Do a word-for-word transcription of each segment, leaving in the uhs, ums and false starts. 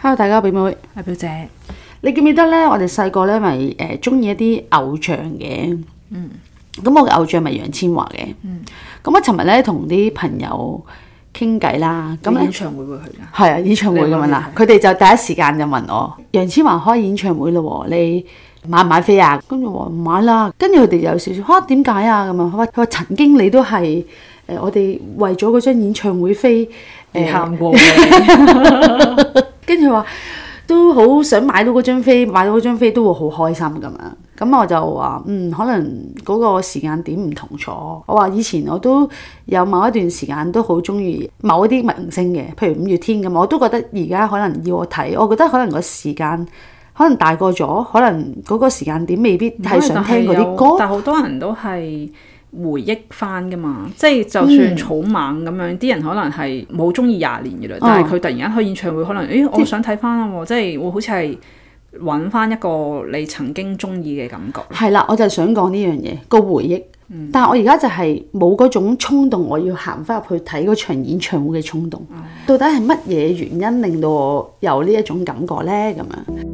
Hello， 大家表妹， 阿表姐， 你記唔記得咧？我哋細個咧咪誒中意一啲偶像嘅， 嗯， 咁我嘅偶像咪楊千嬅嘅， 嗯， 咁我尋日咧同啲朋友傾偈啦，咁演唱會會去㗎？ 係啊，演唱會咁樣啦，佢哋就第一時間就問我楊千嬅開演唱會咯，你買唔買飛啊？跟住我話唔買啦，跟住佢哋有少少嚇點解啊咁啊？佢話佢話曾經你都係誒、呃、我哋為咗嗰張演唱會飛誒喊過嘅。跟住話都好想買到嗰張飛，買到嗰張飛都會好開心咁樣。咁我就話嗯，可能嗰個時間點唔同咗。我話以前我都有某一段時間都好中意某一啲明星嘅，譬如五月天咁，我都覺得而家可能要我睇，我覺得可能個時間可能大個咗，可能嗰個時間點未必係想聽嗰啲歌。 但好多人都係回憶翻噶嘛，即係就算草蜢咁樣，啲、嗯、人可能係冇中意廿年嘅啦，但係佢突然間開演唱會，可能誒我想睇翻啦，即係會好似係揾翻一個你曾經中意嘅感覺。係啦， 我就係想講呢樣嘢個回憶，嗯、但係我而家就係冇嗰種衝動，我要行翻入去睇嗰場演唱會嘅衝動。嗯、到底係乜嘢原因令到我有呢一種感覺呢？咁樣。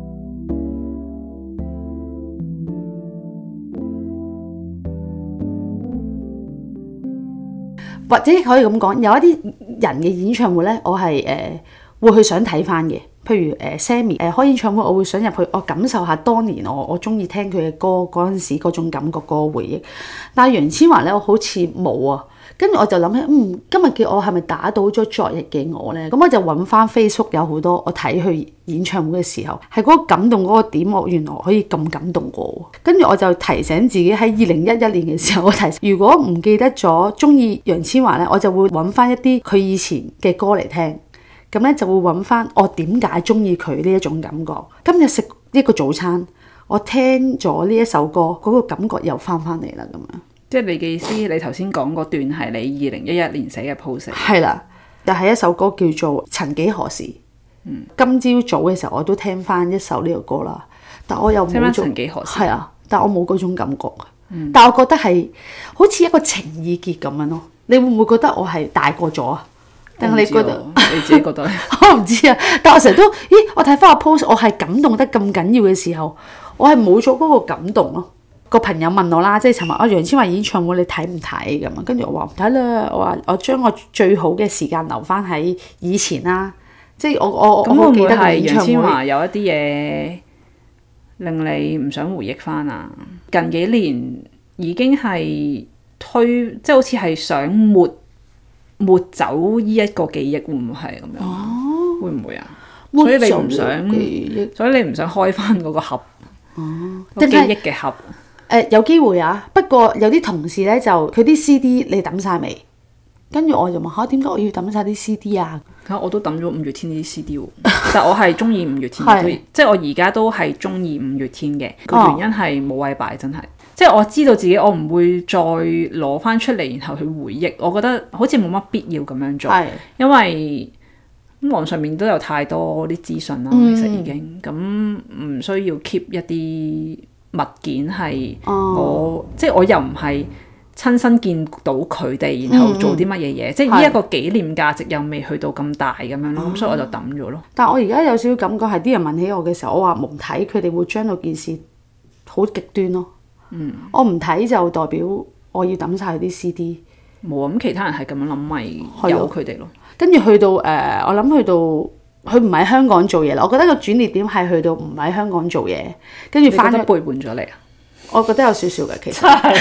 或者可以咁講，有一啲人嘅演唱會咧，我係誒、呃、會去想睇翻嘅。譬如誒、呃、Sammy 誒、呃、開演唱會，我會想入去，我感受下當年我我中意聽佢嘅歌嗰陣時嗰種感覺、嗰個回憶。但係楊千嬅咧，我好似冇啊。跟住我就諗起，嗯，今日嘅我係咪打倒咗昨日嘅我咧？咁我就揾翻 Facebook 有好多我睇佢演唱會嘅時候，係嗰個感動嗰個點，我原來可以咁感動過。跟住我就提醒自己喺二零一一年嘅時候，我提醒如果唔記得咗中意楊千嬅咧，我就會揾翻一啲佢以前嘅歌嚟聽。咁咧就會揾翻我點解中意佢呢一種感覺。今日食一個早餐，我聽咗呢一首歌，嗰、嗰個感覺又翻翻嚟啦，咁樣。 即係你嘅意思，你頭先講嗰段係你二零一一年寫嘅 post。 係啦，就係一首歌叫做《曾幾何時》。嗯，今朝早嘅時候我都聽翻一首呢個歌啦，但我又冇做。 曾幾何時？ 係啊，但我冇嗰種感覺。嗯，但我覺得係好似一個情意結咁樣咯。你會唔會覺得我係大個咗啊？定係你覺得？ 你自己覺得？ 我唔知啊，但我成日都，咦？我睇翻個 post，我係感動得咁緊要嘅時候，我係冇咗嗰個感動咯。個朋友問我啦，即係尋日啊楊千嬅演唱會你睇唔睇咁啊？跟住我話唔睇啦，我話我將我最好嘅時間留翻喺以前啦。即係我我咁我記得係楊千嬅有一啲嘢令你唔想回憶翻啊？近幾年已經係推，即係好似係想抹抹走呢一個記憶，會唔會係咁樣？哦，會唔會啊？所以你唔想，所以你唔想開翻嗰個盒哦，個記憶嘅盒。 誒、呃、有機會啊，不過有啲同事咧就佢啲 C D 你抌晒未？跟住我就問下點解我要抌晒啲 C D 啊？ 嚇我都抌咗五月天啲 C D 喎，但我係中意五月天嘅，是即係我而家都係中意五月天嘅。個原因係冇位擺，真係，即係我知道自己我唔會再攞翻出嚟，然後去回憶。我覺得好似冇乜必要咁樣做，是因為網上面都有太多啲資訊啦，嗯、其實已經咁唔需要 keep 一啲物件係我，哦、即係我又唔係親身見到佢哋，然後做啲乜嘢嘢，嗯、即係呢一個紀念價值又未去到咁大咁樣咯，咁、嗯、所以我就抌咗咯。 但係我而家有少少感覺係啲人問起我嘅時候，我話唔睇，佢哋會將到件事好極端咯。嗯，我唔睇就代表我要抌晒啲 C D。 冇啊，咁其他人係咁樣諗，咪由佢哋咯。 跟住去到誒、呃，我諗去到。佢唔喺香港做嘢啦，我覺得個轉捩點係去到唔喺香港做嘢，跟住翻咗背叛咗你啊！ 我覺得有少少嘅，其實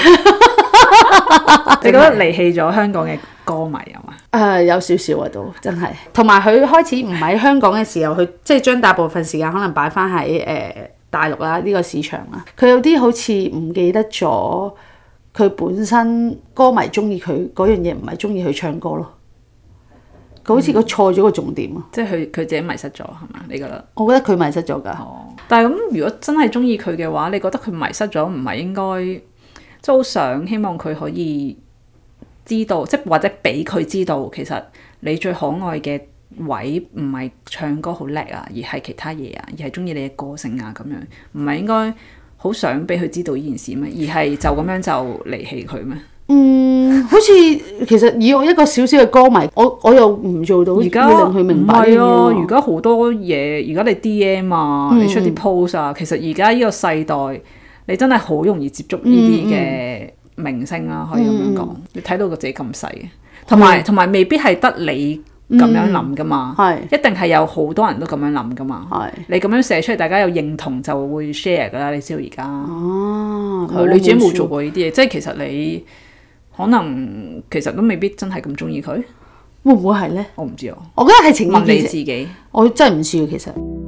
你覺得離棄咗香港嘅歌迷啊嘛？誒、 呃，有少少啊，都真係。同埋佢開始唔喺香港嘅時候，佢即係將大部分時間可能擺翻喺誒大陸啦呢個市場啦。佢有啲好似唔記得咗，佢本身歌迷中意佢嗰樣嘢，唔係中意佢唱歌咯。佢好似佢錯咗個重點啊、嗯！ 即係佢佢自己迷失咗係嘛？你覺得？ 我覺得佢迷失咗㗎。 哦，但係咁，如果真係中意佢嘅話，你覺得佢迷失咗，唔係應該即係好想希望佢可以知道，即係或者俾佢知道，其實你最可愛嘅位唔係唱歌好叻啊，而係其他嘢啊，而係中意你嘅個性啊咁樣，唔係應該好想俾佢知道呢件事咩？而係就咁樣就離棄佢咩？ 嗯。 好似其實以我一個小小嘅歌迷，我我又唔做到要令佢明白呢樣嘢。 唔係啊，而家好多嘢，而家你 D M 啊，嗯、你出啲 post 啊，其實而家呢個世代，你真係好容易接觸呢啲嘅明星啦、啊，可以咁樣講。嗯、你睇到個自己咁細嘅，同埋同埋未必係得你咁樣諗噶嘛， 嗯、 一定係有好多人都咁樣諗噶嘛。 係你咁樣寫出嚟，大家有認同就會 share 噶啦。你知道而家， 哦、 啊，你自己冇做過呢啲嘢，即係其實你可能其實都未必真係咁中意佢， 會唔會係咧？ 我唔知啊。 我覺得係情意結。 問你自己， 我真係唔知啊，其實。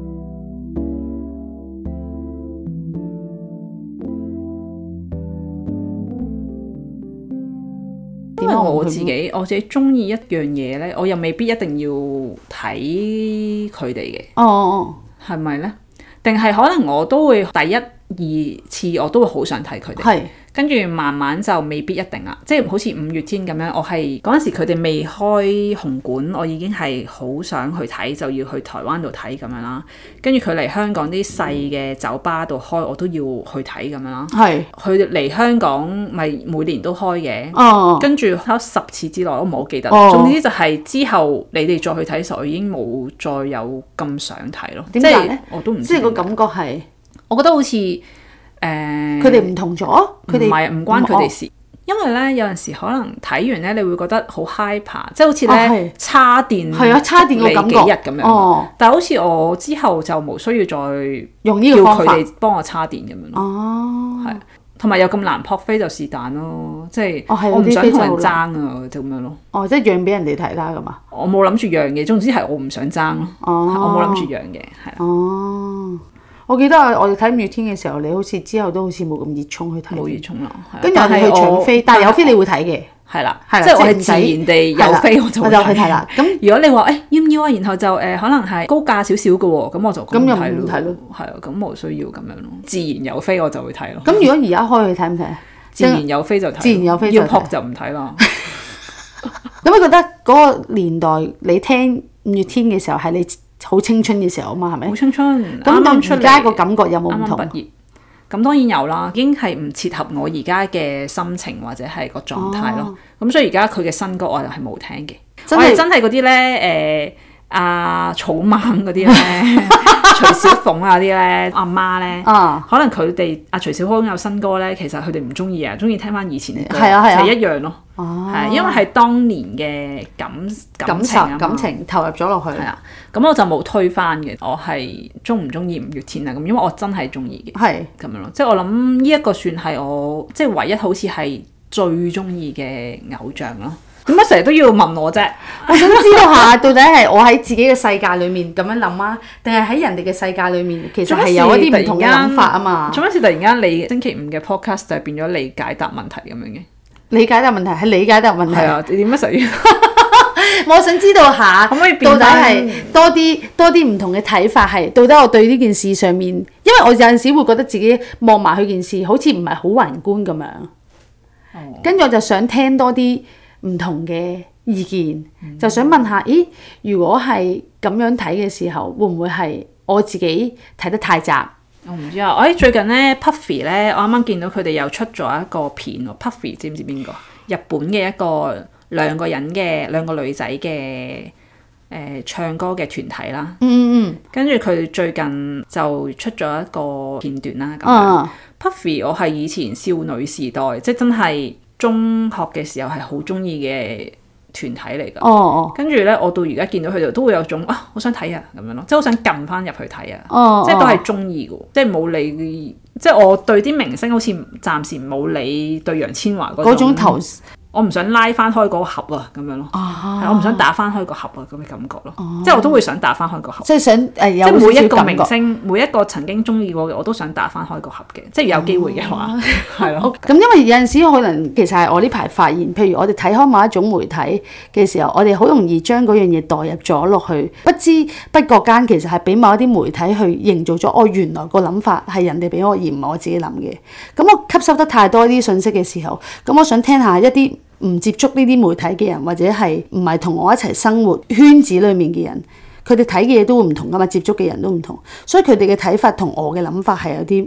因為我自己我自己中意一樣嘢咧，我又未必一定要睇佢哋嘅。 哦哦， 係咪咧？定係可能我都會第一二次我都會好想睇佢哋。係。跟住慢慢就未必一定啦，即係好似五月天咁樣，我係嗰陣時佢哋未開紅館，我已經係好想去睇，就要去台灣度睇咁樣啦。跟住佢嚟香港啲細嘅酒吧度開，我都要去睇咁樣啦。係佢嚟香港咪每年都開嘅。哦，跟住睇十次之內，我唔係好記得。哦，總之就係之後你哋再去睇嘅時候，我已經冇再有咁想睇咯。點解咧？我都唔知。即係個感覺係，我覺得好似。誒， 佢哋唔同咗，佢哋唔係唔關佢哋事，哦、因為咧有陣時可能睇完咧，你會覺得好 hyper，即係好似咧叉電， 係啊，叉電個感覺， 幾日咁樣。哦，但係好似我之後就冇需要再用呢個方法叫佢哋幫我叉電咁樣咯。哦，係，同埋又咁難撲飛就是但咯，即係、哦、我唔想同人爭啊，就咁樣咯。 哦，即係讓俾人哋睇啦，咁啊？ 我冇諗住讓嘅，總之係我唔想爭咯。哦，我冇諗住讓嘅，係。 哦。我記得我哋睇五月天嘅時候，你好似之後都好似冇咁熱衷去睇， 冇熱衷啦。 跟住我哋去搶飛，但係有飛你會睇嘅， 係啦，係啦，即係我係自然地有飛我就我就去睇啦。咁如果你話誒要唔要啊，然後就誒可能係高價少少嘅喎，咁我就咁又唔睇咯，係啊，咁冇需要咁樣咯。自然有飛我就會睇咯。 咁如果而家開去睇唔睇啊？ 自然有飛就睇，自然有飛要撲就唔睇啦。 咁你覺得嗰個年代你聽五月天嘅時候係你好青春嘅時候啊嘛，係咪？ 好青春， 咁到而家個感覺有冇唔同？ 啱啱畢業，咁當然有啦，已經係唔切合我而家嘅心情或者係個狀態咯。咁、哦、所以而家佢嘅新歌我又係冇聽嘅。真係真係嗰啲咧，誒阿草蜢嗰啲咧，徐小鳳啊啲咧，阿媽咧，可能佢哋阿徐小鳳有新歌咧，其實佢哋唔中意啊，中意聽翻以前嘅歌，係啊係啊，係一樣咯。哦，係因為係當年嘅感感情啊， 感情投入咗落去。 係啊，咁我就冇推翻嘅。我係中唔中意五月天啊？咁因為我真係中意嘅，係咁樣咯。即係我諗呢一個算係我即係唯一好似係最中意嘅偶像咯。點解成日都要問我啫？ 我想知道下，到底係我喺自己嘅世界裡面咁樣諗啊，定係喺人哋嘅世界裡面其實係有一啲唔同嘅諗法啊嘛？ 做乜事突然間你星期五嘅 podcast 就變咗你解答問題咁樣嘅？ 理解答問題係理解答問題。 係啊，你點解成日要？ 我想知道下， 可唔可以到底係多啲多啲唔同嘅睇法係？到底我對呢件事上面，因為我有陣時會覺得自己望埋佢件事，好似唔係好宏觀咁樣。哦。跟住我就想聽多啲唔同嘅意見，嗯、就想問下，咦？如果係咁樣睇嘅時候，會唔會係我自己睇得太窄？ 我唔知啊！我喺最近咧 Puffy 咧，我啱啱見到佢哋又出咗一個片喎。Puffy 知唔知邊個？日本嘅一個兩個人嘅兩個女仔嘅誒唱歌嘅團體啦。嗯嗯。跟住佢最近就出咗一個片段啦。咁樣、啊、Puffy 我係以前少女時代，即係真係中學嘅時候係好中意嘅團體嚟㗎。哦哦。跟住咧，我到而家見到佢哋都會有種啊，好想睇啊咁樣咯，即係好想撳翻入去睇啊。哦。即係都係中意㗎，即係冇理，即係我對啲明星好似暫時冇理對楊千嬅嗰種頭。我唔想拉翻開嗰個盒啊，咁樣咯。哦、我唔想打翻開個盒啊，咁嘅感覺咯。哦、即係我都會想打翻開個盒。即係想誒、呃，有即係每一個明星，每一個曾經中意過嘅，我都想打翻開個盒嘅。即係有機會嘅話，係咯。咁因為有陣時可能其實係我呢排發現，譬如我哋睇開某一種媒體嘅時候，我哋好容易將嗰樣嘢代入咗落去，不知不覺間其實係俾某一啲媒體去營造咗。哦，原來個諗法係人哋俾我，而唔係我自己諗嘅。咁我吸收得太多啲信息嘅時候，咁我想聽下一啲唔接觸呢啲媒體嘅人，或者係唔係同我一齊生活圈子裡面嘅人，佢哋睇嘅嘢都會唔同噶嘛，接觸嘅人都唔同，所以佢哋嘅睇法同我嘅諗法係有啲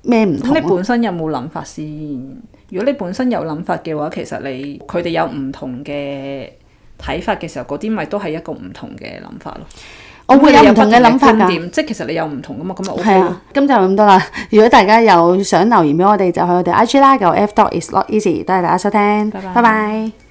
咩唔同？ 咁你本身有冇諗法先？如果你本身有諗法嘅話，其實你佢哋有唔同嘅睇法嘅時候，嗰啲咪都係一個唔同嘅諗法咯。 我會有唔同嘅諗法㗎， 即係其實你有唔同㗎嘛，咁咪 OK。 係啊，今集咁多啦。如果大家有想留言俾我哋，就去我哋 I G 啦，個 F dot is not easy。多謝大家收聽，拜拜。